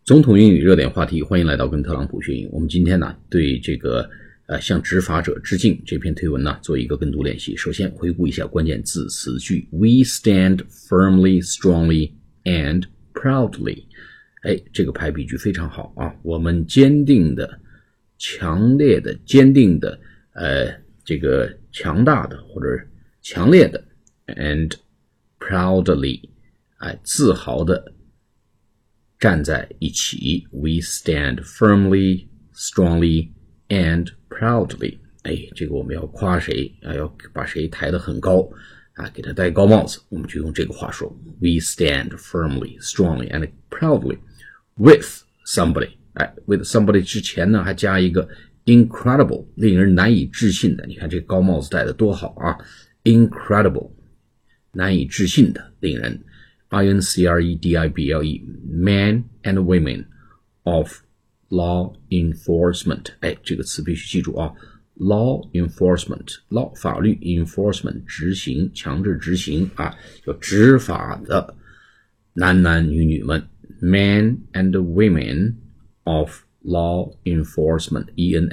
总统英语热点话题，欢迎来到跟特朗普学英语。我们今天呢，对这个向执法者致敬这篇推文呢，做一个跟读练习。首先回顾一下关键字词句 ：We stand firmly, strongly, and proudly。这个排比句非常好啊！我们坚定的、强烈的、坚定的，这个强大的或者强烈的 ，and proudly， 自豪的。站在一起 We stand firmly, strongly, and proudly。 这个我们要夸谁要把谁抬得很高给他戴高帽子，我们就用这个话说 We stand firmly, strongly, and proudly with somebody。 with somebody 之前呢还加一个 incredible， 令人难以置信的。你看这个高帽子戴得多好啊， incredible， 难以置信的，令人incredible men and women of law enforcement。 这个词必须记住啊， law enforcement， law 法律 enforcement 执行，强制执行就执法的男男女女们 men and women of law enforcement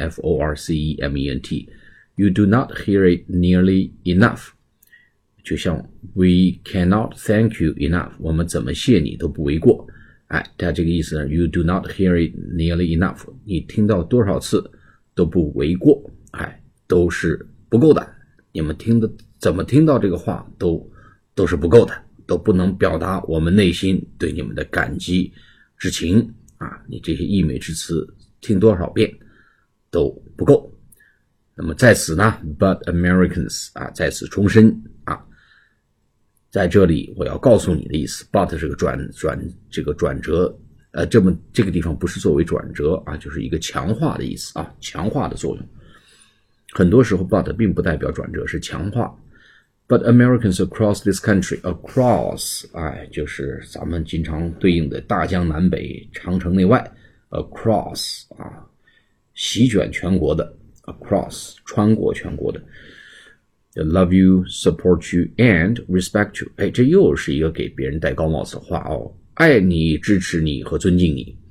enforcement。 You do not hear it nearly enough，就像 we cannot thank you enough， 我们怎么谢你都不为过。它这个意思呢 you do not hear it nearly enough， 你听到多少次都不为过，都是不够的。你们怎么听到这个话都是不够的，都不能表达我们内心对你们的感激之情你这些溢美之词听多少遍都不够。那么在此呢 but Americans 在此重申在这里我要告诉你的意思 but 是个这个转折这个地方不是作为转折就是一个强化的意思强化的作用。很多时候 but 并不代表转折，是强化。But Americans across this country, across 就是咱们经常对应的大江南北长城内外 across 席卷全国的 across 穿过全国的Love you, support you, and respect you。 这又是一个给别人戴高帽子的话爱你，支持你和尊敬你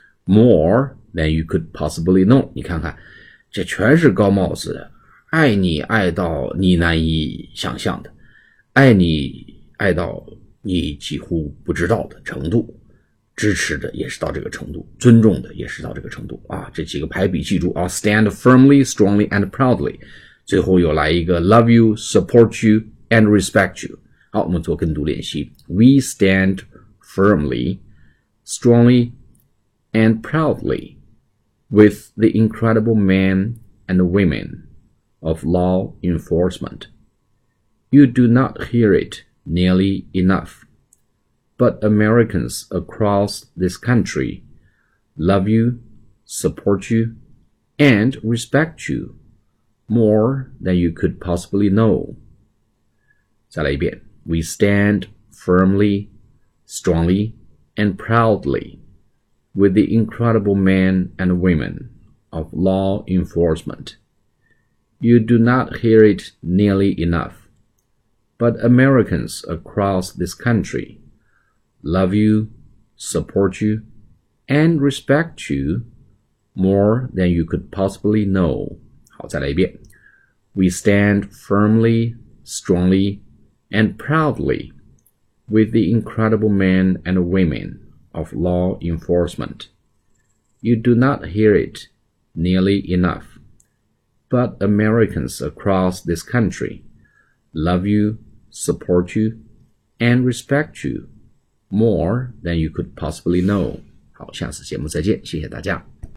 More than you could possibly know。 你看看这全是高帽子的，爱你爱到你难以想象的，爱你爱到你几乎不知道的程度，支持的也是到这个程度，尊重的也是到这个程度这几个排比记住Stand firmly, strongly, and proudly。最后又来一个 love you, support you, and respect you。 好，我们做跟读练习。 We stand firmly, strongly, and proudly with the incredible men and women of law enforcement. You do not hear it nearly enough, but Americans across this country love you, support you, and respect you.More than you could possibly know. 再来一遍 We stand firmly, strongly, and proudly with the incredible men and women of law enforcement. You do not hear it nearly enough, but Americans across this country love you, support you, and respect you more than you could possibly know.好，再来一遍 We stand firmly, strongly, and proudly with the incredible men and women of law enforcement. You do not hear it nearly enough, but Americans across this country love you, support you, and respect you more than you could possibly know. 好，下次节目再见，谢谢大家。